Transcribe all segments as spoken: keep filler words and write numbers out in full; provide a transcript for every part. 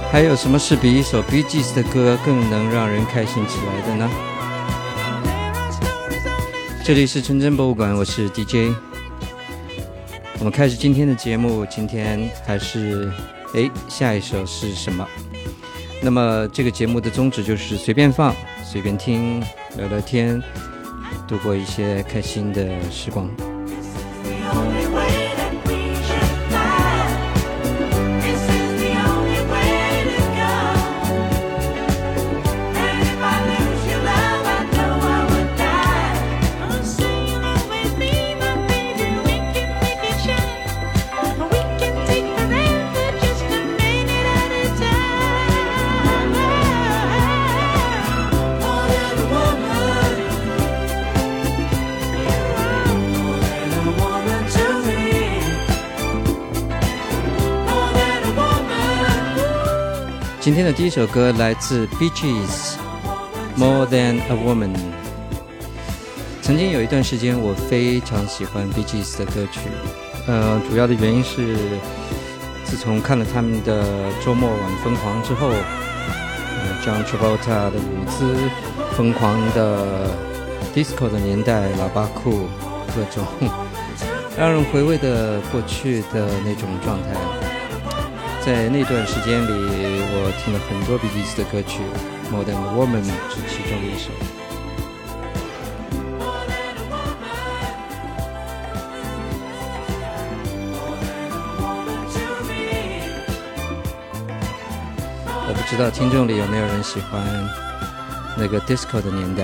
还有什么是比一首 Bee Gees 的歌更能让人开心起来的呢？这里是纯真博物馆，我是 D J。 我们开始今天的节目，今天还是诶下一首是什么？那么这个节目的宗旨就是随便放随便听，聊聊天，度过一些开心的时光。今天的第一首歌来自 Bee Gees More Than a Woman。 曾经有一段时间我非常喜欢 Bee Gees 的歌曲，呃，主要的原因是自从看了他们的周末晚疯狂之后，呃 John Travolta 的舞姿，疯狂的 disco 的年代，喇叭裤，各种让人回味的过去的那种状态。在那段时间里，我听了很多 Bee Gees 的歌曲， More Than a Woman 是其中的一首。我不知道听众里有没有人喜欢那个 disco 的年代。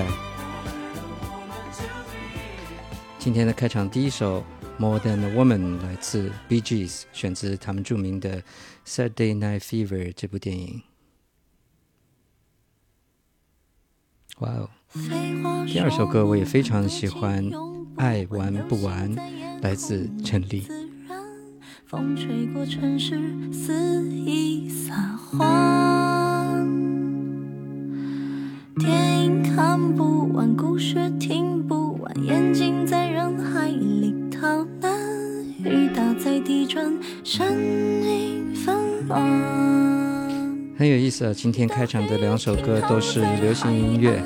今天的开场第一首More Than a Woman 来自 Bee Gees， 选自他们著名的 Saturday Night Fever 这部电影。哇哦！第二首歌我也非常喜欢，爱玩不完，来自陈粒。 风吹过城市肆意撒欢，电影看不完，故事听不完，眼睛在人海里逃难，雨打在地砖，声音纷乱。 很有意思啊！今天开场的两首歌都是流行音乐。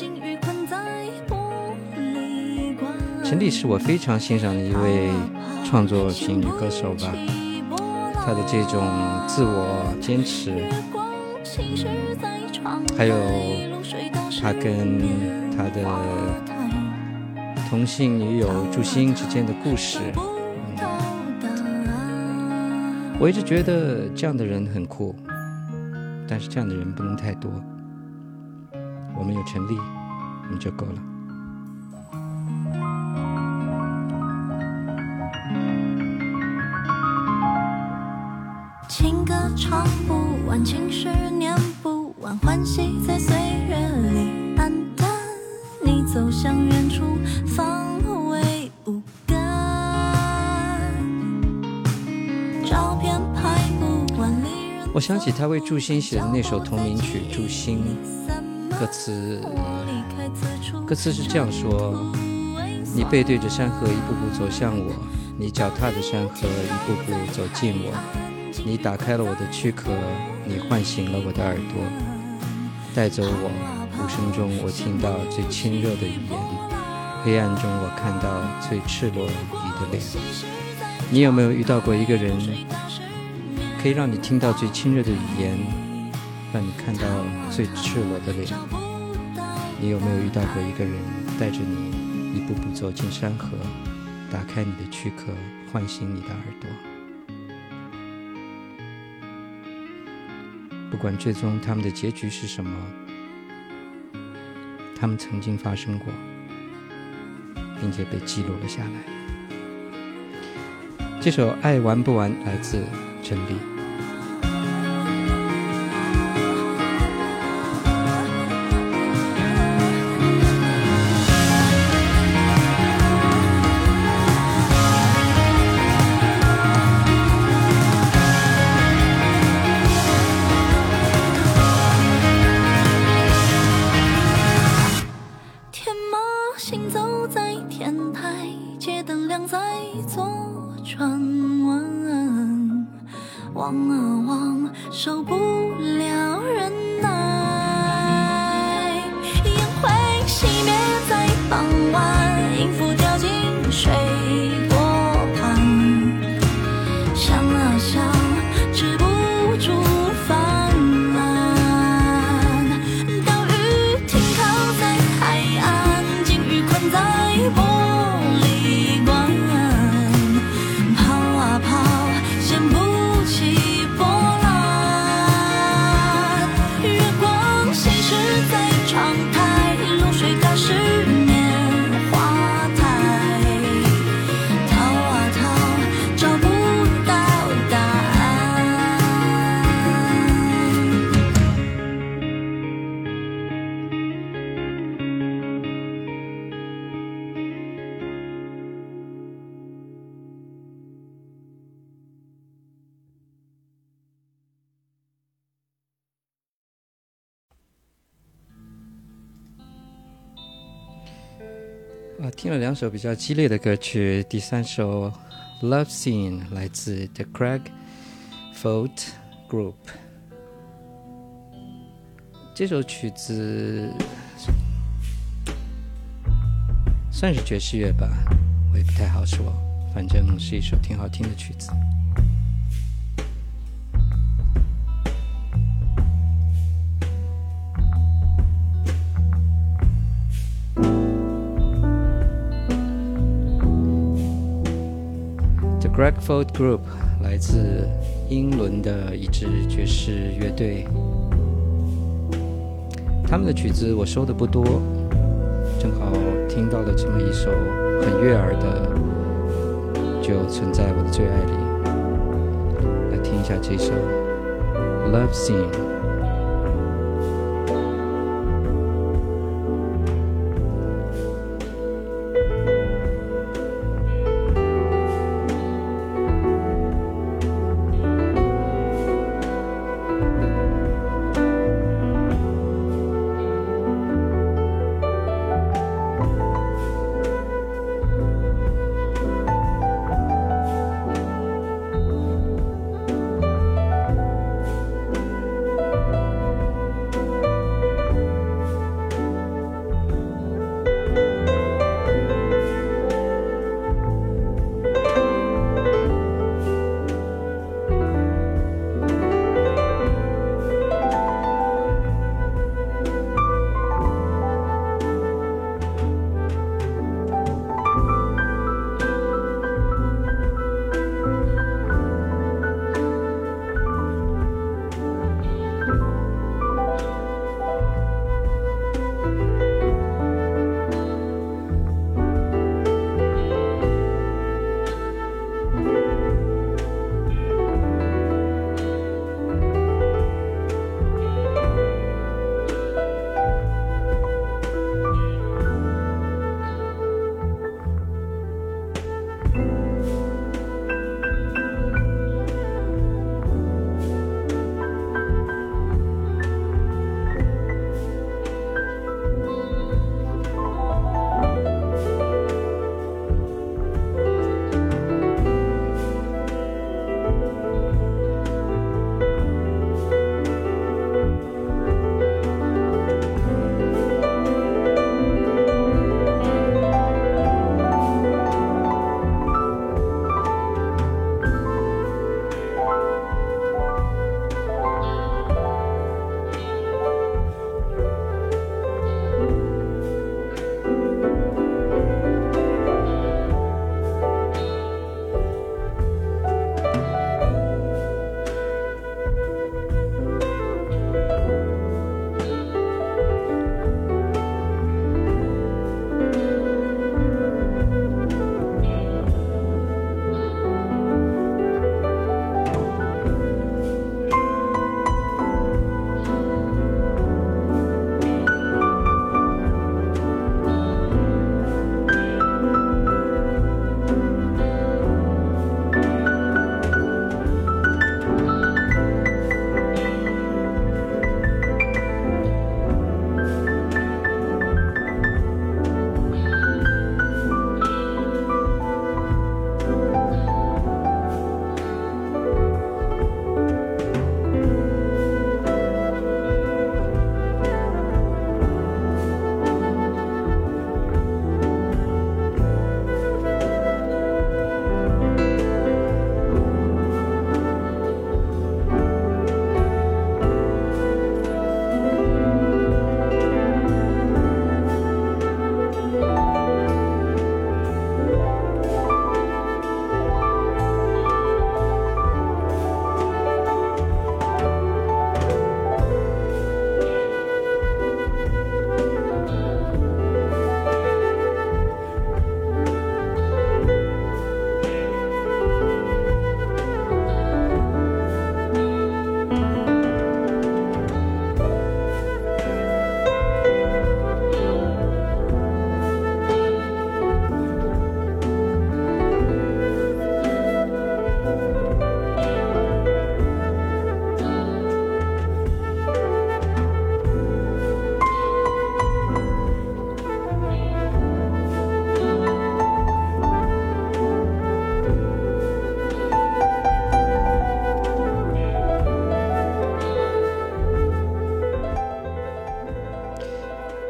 陈粒是我非常欣赏的一位创作型女歌手吧，她的这种自我坚持，嗯、还有她跟她的同性女友祝星之间的故事。我一直觉得这样的人很酷，但是这样的人不能太多。我们有陈粒，我们就够了。 情歌唱不完，情诗念不完，欢喜在岁月里黯淡。你走向远处，方为无感。照片拍不完， 我想起他为祝星写的那首同名曲《祝星》，歌词歌词是这样说：你背对着山河一步步走向我，你脚踏着山河一步步走近我，你打开了我的躯壳，你唤醒了我的耳朵，带走我，无声中我听到最亲热的语言，黑暗中我看到最赤裸你的脸。你有没有遇到过一个人，可以让你听到最亲热的语言，让你看到最赤裸的脸？你有没有遇到过一个人，带着你一步步走进山河，打开你的躯壳，唤醒你的耳朵？不管最终他们的结局是什么，他们曾经发生过，并且被记录了下来。这首《爱玩不完》来自陈粒。 望啊望，受不好，听了两首比较激烈的歌曲，第三首 Love Scene 来自 The Craig Fault Group。 这首曲子算是爵士乐吧，我也不太好说，反正是一首挺好听的曲子。The Craig Fault Group 来自英伦的一支爵士乐队，他们的曲子我收的不多，正好听到了这么一首很悦耳的，就存在我的最爱里。来听一下这首 Love Scene。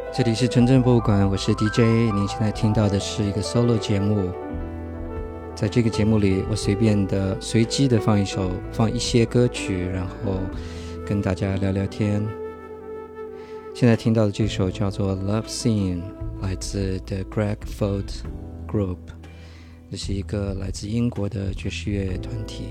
这里是纯正博物馆，我是 D J。 您现在听到的是一个 solo 节目，在这个节目里我随便的随机的放一首放一些歌曲，然后跟大家聊聊天。现在听到的这首叫做 Love Scene， 来自 The Greg Fold Group， 这是一个来自英国的爵士乐团体。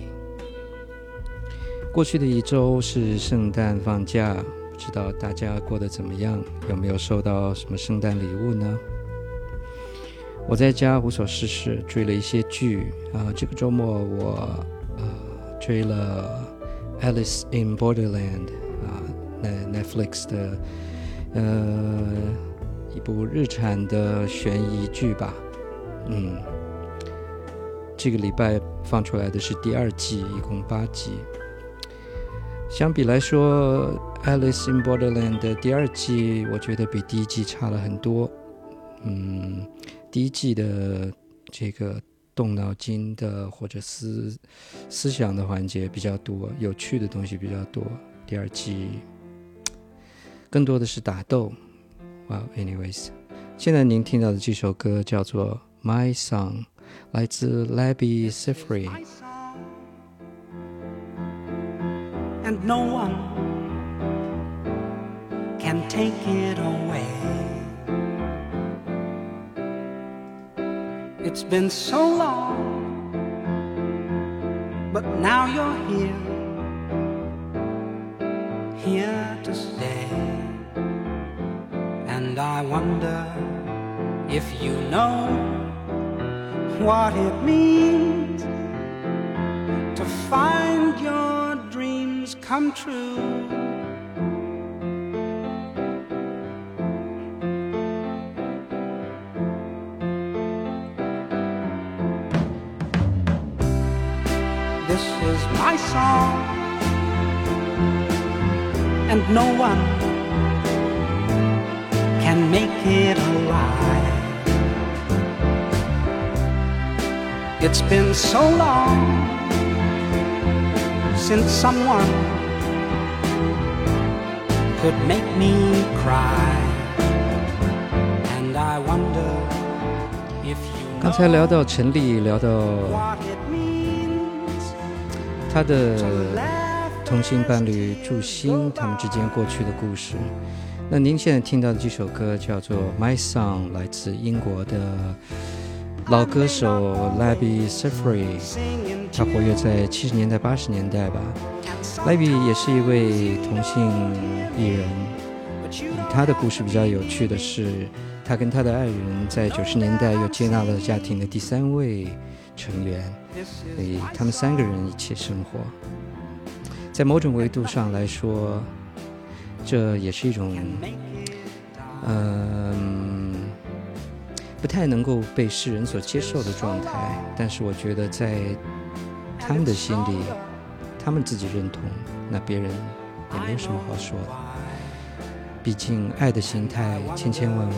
过去的一周是圣诞放假，不知道大家过得怎么样，有没有收到什么圣诞礼物呢？我在家无所事事，追了一些剧啊。这个周末我呃追了 Alice in Borderland 啊，那 Netflix 的呃一部日产的悬疑剧吧。嗯，这个礼拜放出来的是第二季，一共八集。相比来说 Alice in Borderland 的第二季我觉得比第一季差了很多。嗯，第一季的这个动脑筋的或者思思想的环节比较多，有趣的东西比较多。第二季更多的是打斗。Well, anyways， 现在您听到的这首歌叫做 My Song， 来自 Labi Siffre。And no one can take it away. It's been so long, but now you're here, here to stay. And I wonder if you know what it means to find your dreams come true. This is my song, and no one can make it alive. It's been so long since someone could make me cry, and I wonder if you 刚才聊到陈粒，聊到他的同性伴侣祝星他们之间过去的故事。那您现在听到的这首歌叫做 My Song， 来自英国的老歌手 Labi Siffre， 他活跃在七十年代八十年代吧。Labi 也是一位同性艺人，他的故事比较有趣的是，他跟他的爱人在九十年代又接纳了家庭的第三位成员，所以他们三个人一起生活。在某种维度上来说，这也是一种嗯、呃不太能够被世人所接受的状态，但是我觉得在他们的心里，他们自己认同，那别人也没有什么好说的。毕竟爱的形态千千万万，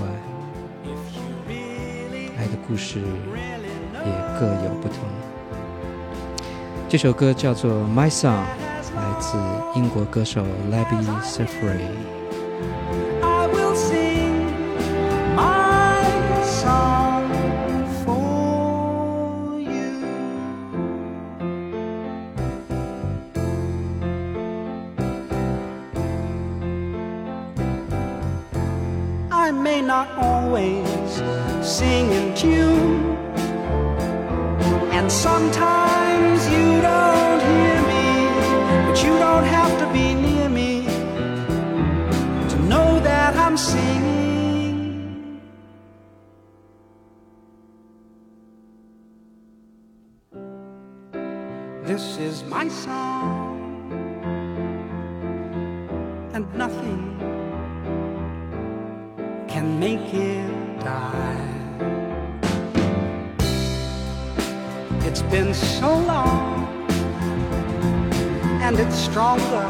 爱的故事也各有不同。这首歌叫做 My Song， 来自英国歌手 Labi Siffre。I may not always sing in tune, and sometimes you don't hear me, but you don't have to be near me to know that I'm singing. This is my song, and nothing can make it die. It's been so long, and it's stronger.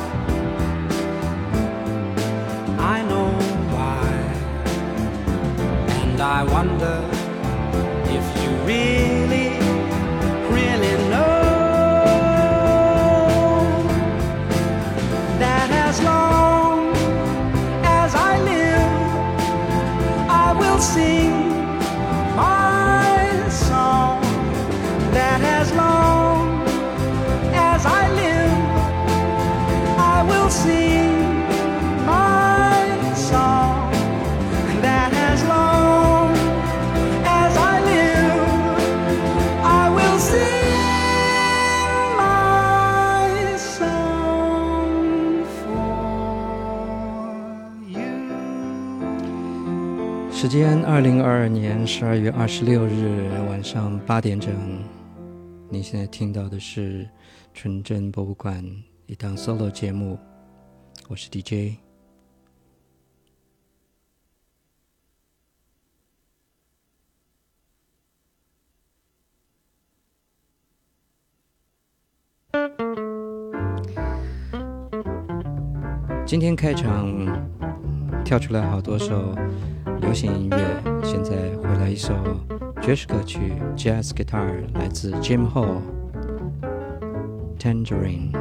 I know why, and I wonder if you really, really know that as long as I live, 时间二零二二年十二月二十六日晚上八点整，你现在听到的是纯真博物馆一档 solo 节目，我是 D J。今天开场跳出来好多首流行音乐，现在回来一首爵士歌曲 Jazz Guitar， 来自 Jim Hall Tangerine。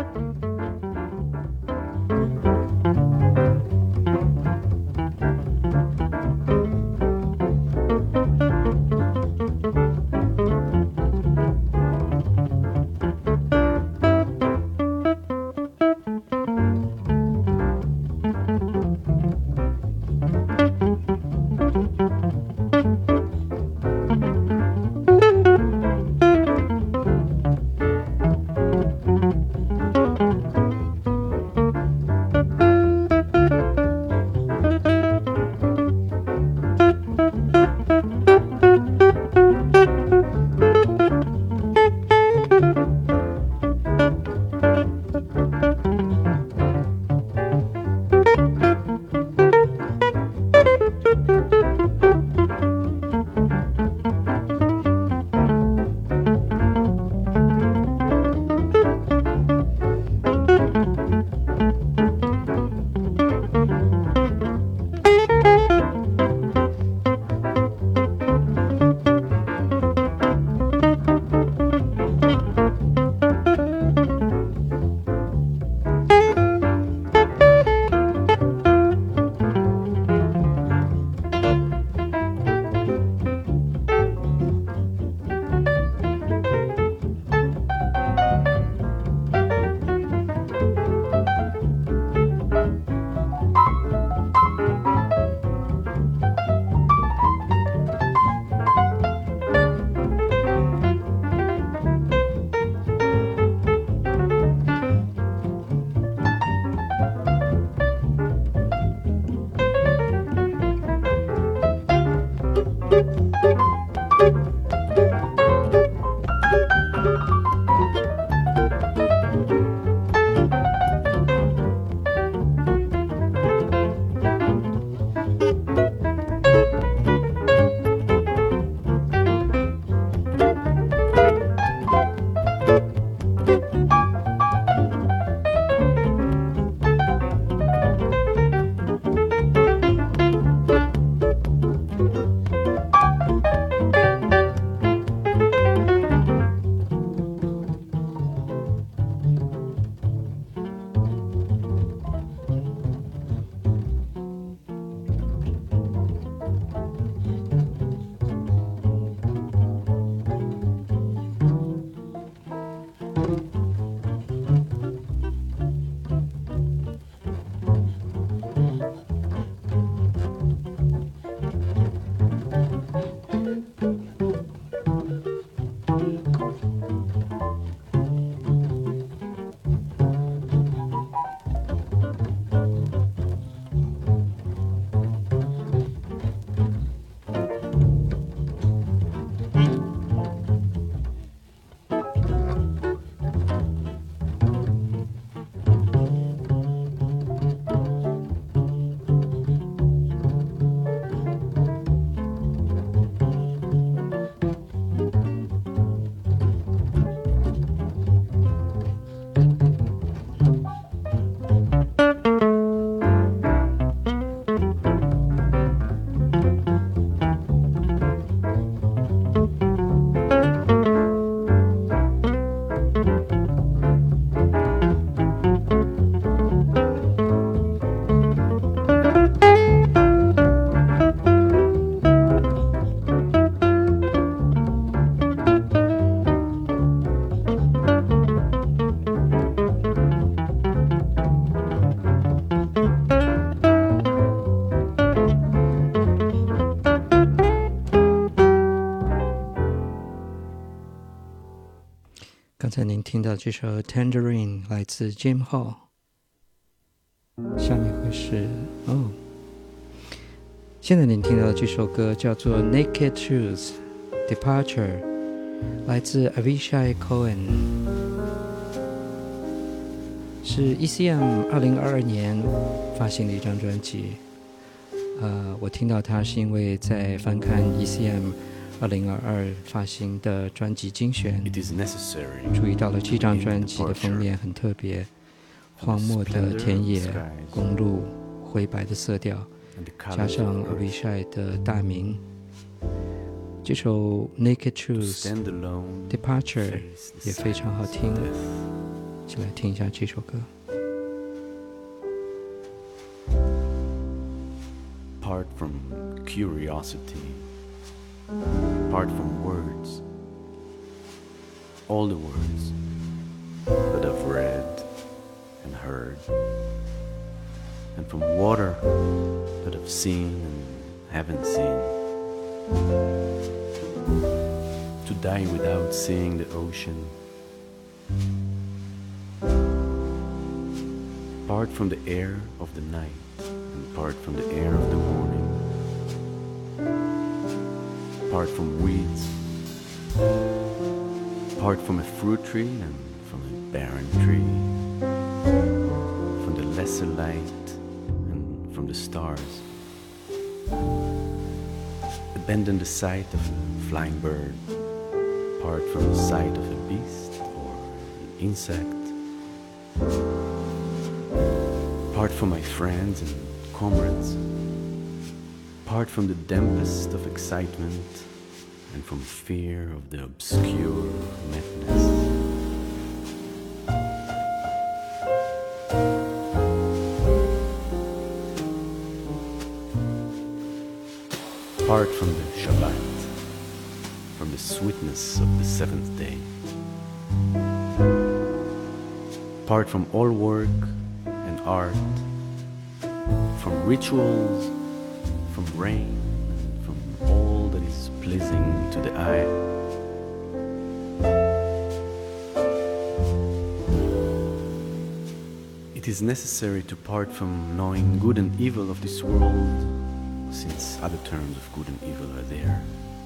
刚才您听到这首 Tangerine 来自 Jim Hall， 下面会是哦现在您听到的这首歌叫做 Naked Truth Departure， 来自 Avishai Cohen， 是 E C M 二零二二年发行的一张专辑。呃，我听到它是因为在翻看 E C M 二零二二发行的专辑精选，注意到了这张专辑的封面很特别，荒漠的田野、公路、灰白的色调，加上 Avishai 的大名。这首 Naked Truth Departure 也非常好听，一起来听一下这首歌。 Apart from curiosity, apart from words, all the words that I've read and heard, and from water that I've seen and haven't seen, to die without seeing the ocean, apart from the air of the night, apart from the air of the morning, apart from weeds, apart from a fruit tree and from a barren tree, from the lesser light and from the stars, abandon the sight of a flying bird, apart from the sight of a beast or an insect, apart from my friends and comrades, apart from the dampest of excitement and from fear of the obscure madness. Apart from the Shabbat, from the sweetness of the seventh day, apart from all work and art, from rituals, from rain, and from all that is pleasing to the eye. It is necessary to part from knowing good and evil of this world, since other terms of good and evil are there.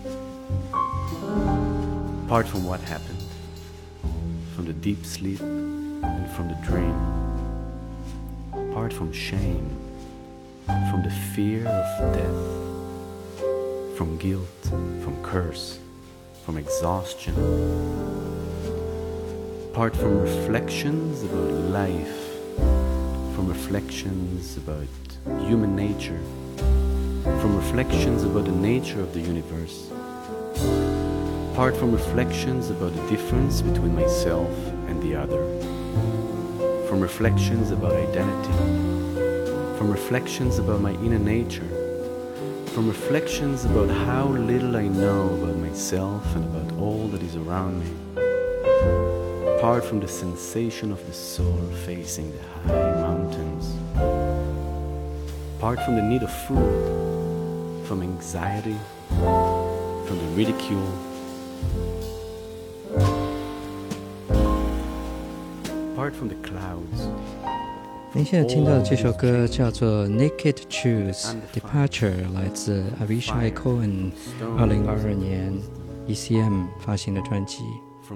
Apart from what happened, from the deep sleep and from the dream. Apart from shame, from the fear of death, from guilt, from curse, from exhaustion, apart from reflections about life, from reflections about human nature, from reflections about the nature of the universe, apart from reflections about the difference between myself and the other, from reflections about identity, from reflections about my inner nature, from reflections about how little I know about myself and about all that is around me, apart from the sensation of the soul facing the high mountains, apart from the need of food, from anxiety, from the ridicule, apart from the clouds. 您现在听到的这首歌叫做 Naked Truth Departure， 来自 Avishai Cohen 二零二二年 E C M 发行的专辑。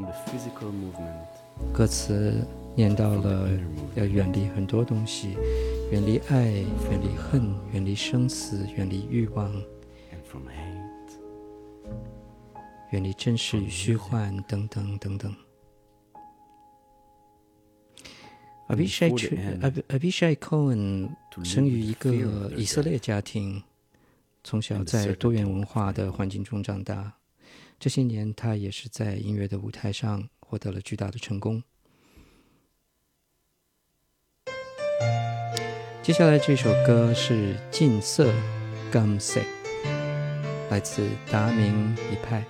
歌词念到了要远离很多东西，远离爱，远离恨，远离生死，远离欲望，远离真实与虚幻，等等等等。Avishai, Avishai Cohen 生于一个以色列家庭，从小在多元文化的环境中长大。这些年，他也是在音乐的舞台上获得了巨大的成功。接下来这首歌是《近色 Gamse》，来自达明一派。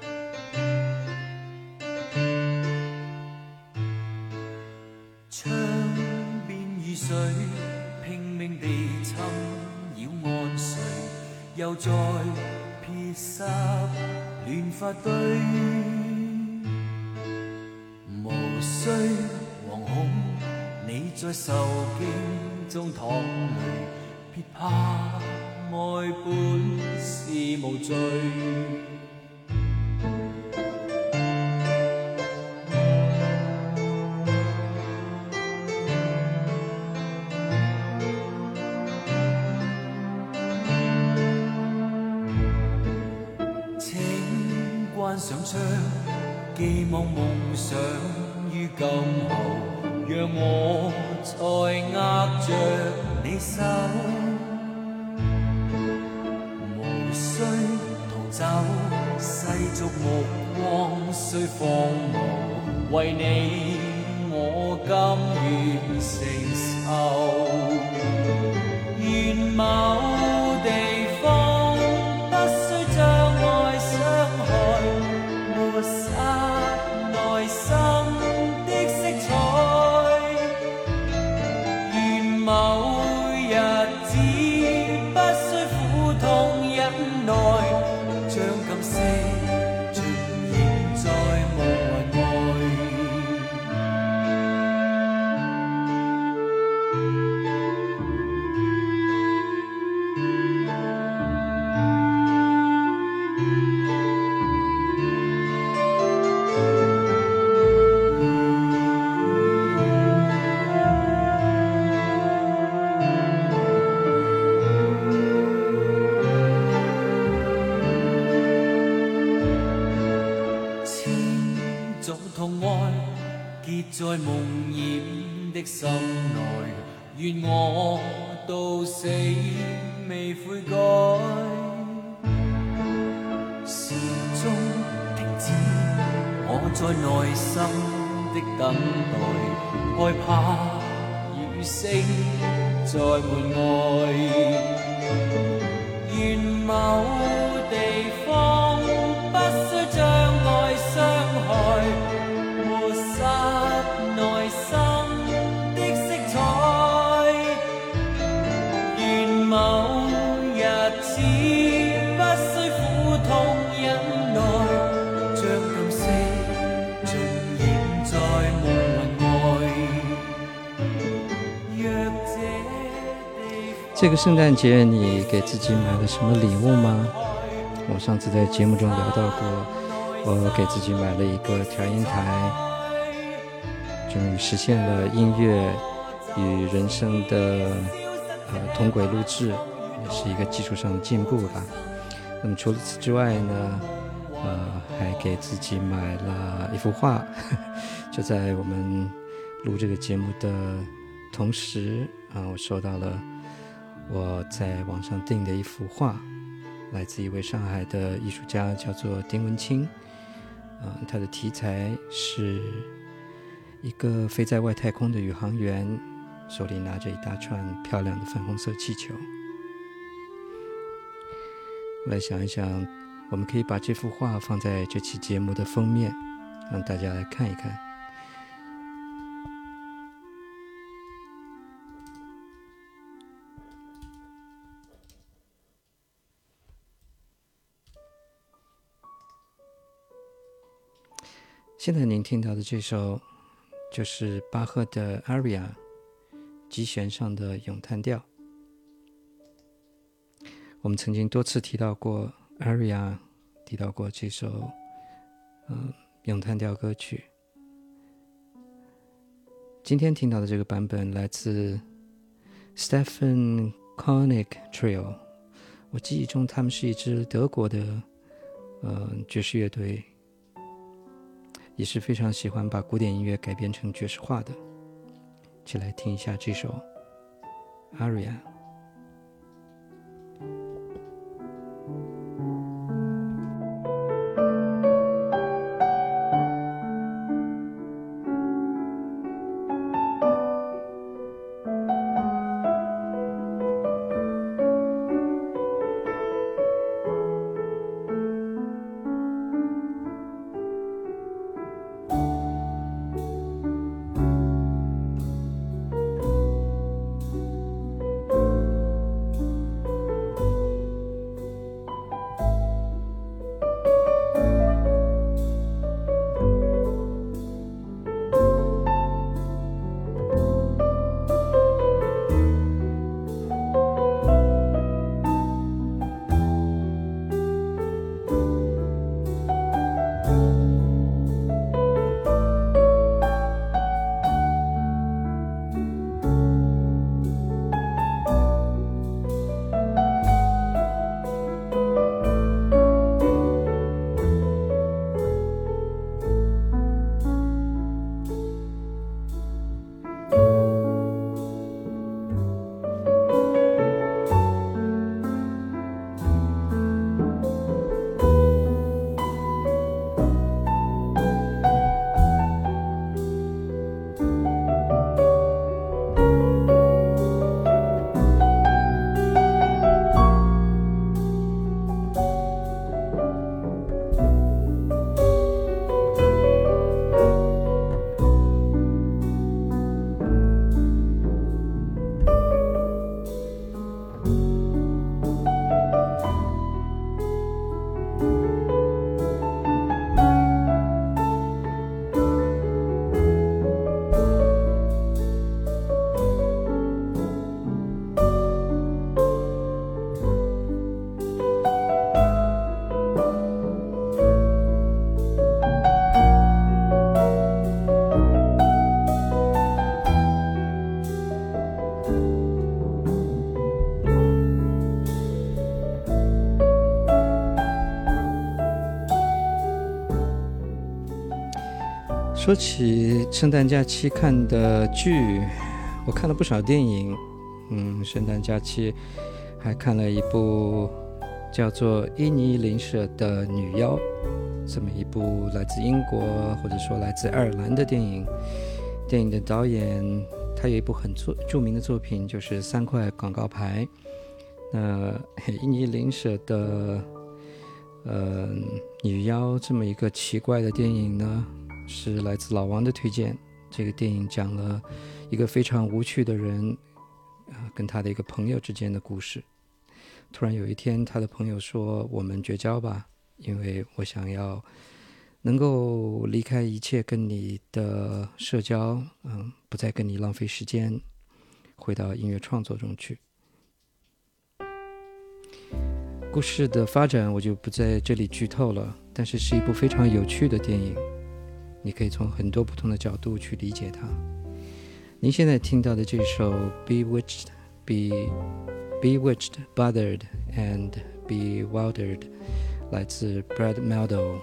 水拼命地侵擾安睡，又再撇濕亂髮堆，無需惶恐，你在受驚中淌淚，別怕愛本是無罪。關上窗，寄望夢想於今後，讓我再握着你手，無需逃走，世俗目光雖荒謬，為你我甘願承受。願某地方不需將愛傷害，抹殺內心的色彩。願某日子不需苦痛忍耐，將感色盡現在無雲外。在夢魘的心內，願我到死未悔改，時鐘停止我在內心的等待，害怕雨聲在門外。願某地方不需將愛傷害，抹殺內心的色彩。願某日子不需苦痛忍耐，將感色盡現在無雲外。若這地方这个圣诞节你给自己买了什么礼物吗？我上次在节目中聊到过，我给自己买了一个调音台，终于实现了音乐与人声的呃同轨录制，也是一个技术上的进步吧。那么除了此之外呢，呃，还给自己买了一幅画，呵呵就在我们录这个节目的同时啊，我收到了我在网上订的一幅画，来自一位上海的艺术家，叫做丁文清。呃，他的题材是一个飞在外太空的宇航员，手里拿着一大串漂亮的粉红色气球。来想一想，我们可以把这幅画放在这期节目的封面，让大家来看一看。现在您听到的这首就是巴赫的 Aria 极弦上的咏叹调。我们曾经多次提到过 Aria， 提到过这首、呃、咏叹调歌曲。今天听到的这个版本来自 Stefan Koenig Trio， 我记忆中他们是一支德国的、呃、爵士乐队，也是非常喜欢把古典音乐改编成爵士化的。一起来听一下这首 Aria。 说起圣诞假期看的剧，我看了不少电影。嗯，圣诞假期还看了一部叫做《伊尼林舍的女妖》，这么一部来自英国或者说来自爱尔兰的电影。电影的导演他有一部很著名的作品，就是三块广告牌。那伊尼林舍的呃女妖这么一个奇怪的电影呢，是来自老王的推荐。这个电影讲了一个非常无趣的人、呃、跟他的一个朋友之间的故事。突然有一天，他的朋友说，我们绝交吧，因为我想要能够离开一切跟你的社交，嗯，不再跟你浪费时间，回到音乐创作中去。故事的发展我就不在这里剧透了，但是是一部非常有趣的电影，你可以从很多不同的角度去理解它。您现在听到的这首 Bewitched, Be, Bewitched, Bothered and Bewildered 来自 Brad Mehldau。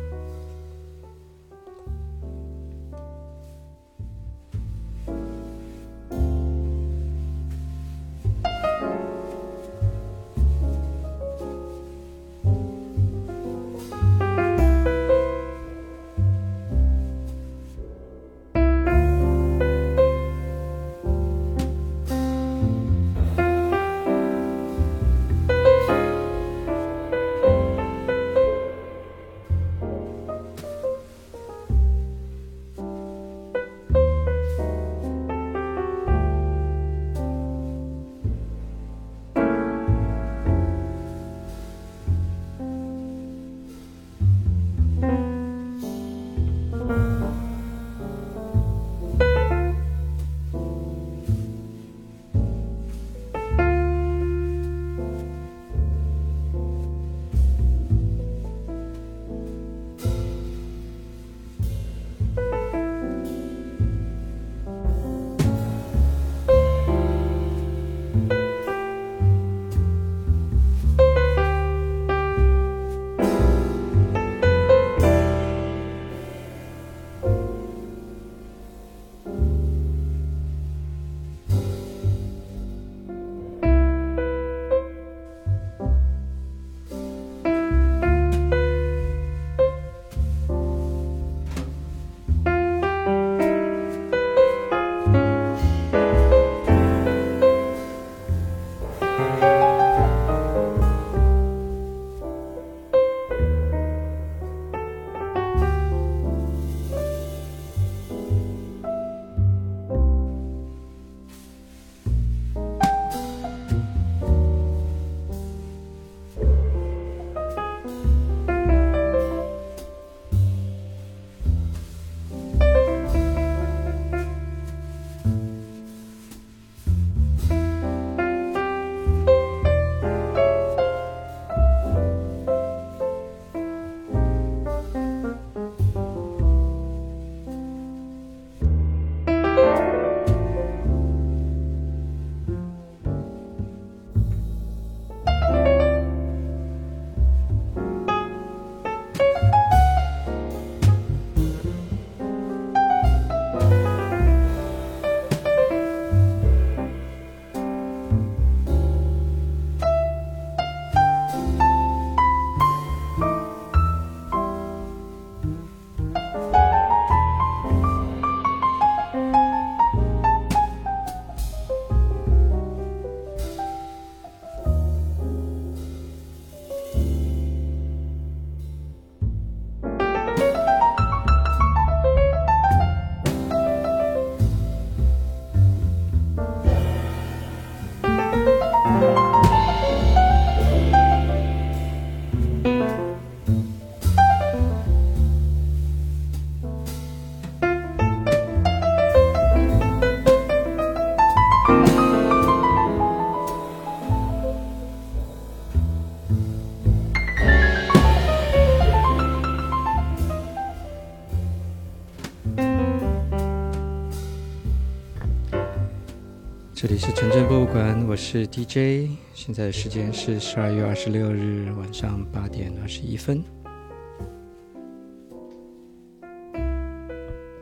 这里是城镇博物馆，我是 D J， 现在时间是十二月二十六日晚上八点二十一分。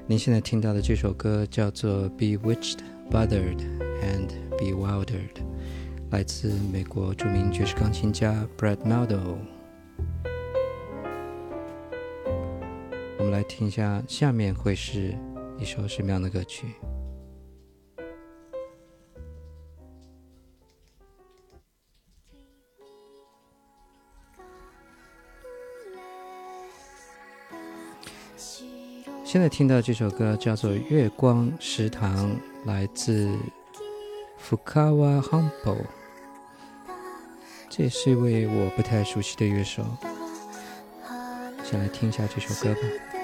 您现在听到的这首歌叫做 Bewitched, Bothered and Bewildered， 来自美国著名爵士钢琴家 Brad Mehldau。 我们来听一下下面会是一首什么样的歌曲。现在听到这首歌叫做《月光食堂》，来自 Fukawa Humble， 这也是一位我不太熟悉的乐手。先来听一下这首歌吧。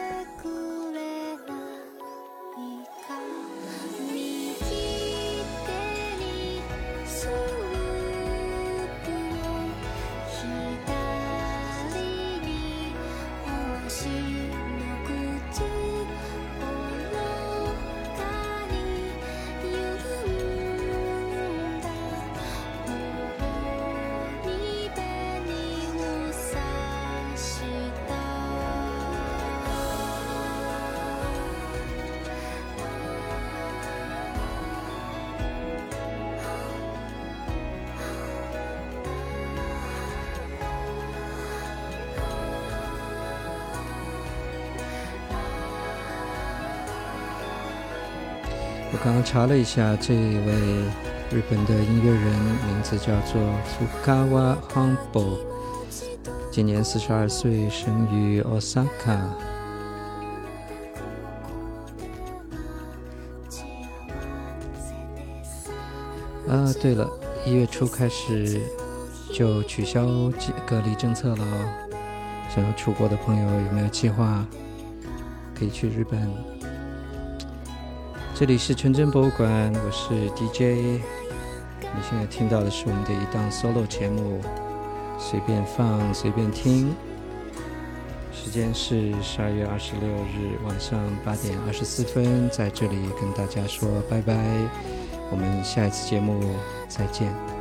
我刚刚查了一下，这位日本的音乐人名字叫做 Fukawa Humble， 今年四十二岁，生于 Osaka。 啊，对了，一月初开始就取消隔离政策了哦。想要出国的朋友有没有计划可以去日本？这里是纯真博物馆，我是 D J。 你现在听到的是我们的一档 solo 节目，随便放随便听。时间是十二月二十六日晚上八点二十四分，在这里跟大家说拜拜，我们下一次节目再见。